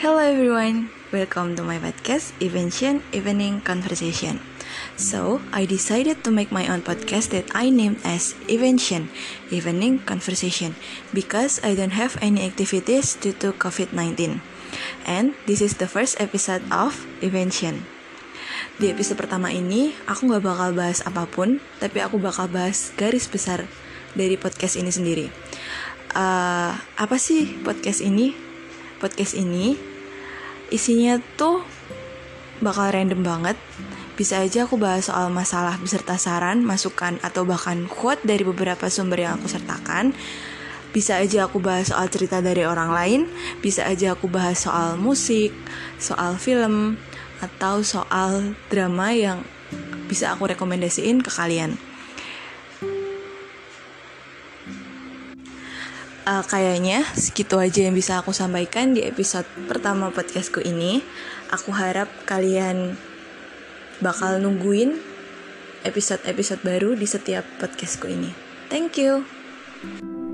Hello everyone, welcome to my podcast Evention Evening Conversation. So, I decided to make my own podcast that I named as Evention Evening Conversation because I don't have any activities due to COVID-19. And this is the first episode of Evention. Di episode pertama ini, aku gak bakal bahas apapun, tapi aku bakal bahas garis besar dari podcast ini sendiri. Apa sih podcast ini? Podcast ini isinya tuh bakal random banget. Bisa aja aku bahas soal masalah beserta saran, masukan, atau bahkan quote dari beberapa sumber yang aku sertakan. Bisa aja aku bahas soal cerita dari orang lain. Bisa aja aku bahas soal musik, soal film, atau soal drama yang bisa aku rekomendasiin ke kalian. Kayaknya segitu aja yang bisa aku sampaikan di episode pertama podcastku ini. Aku harap kalian bakal nungguin episode-episode baru di setiap podcastku ini. Thank you.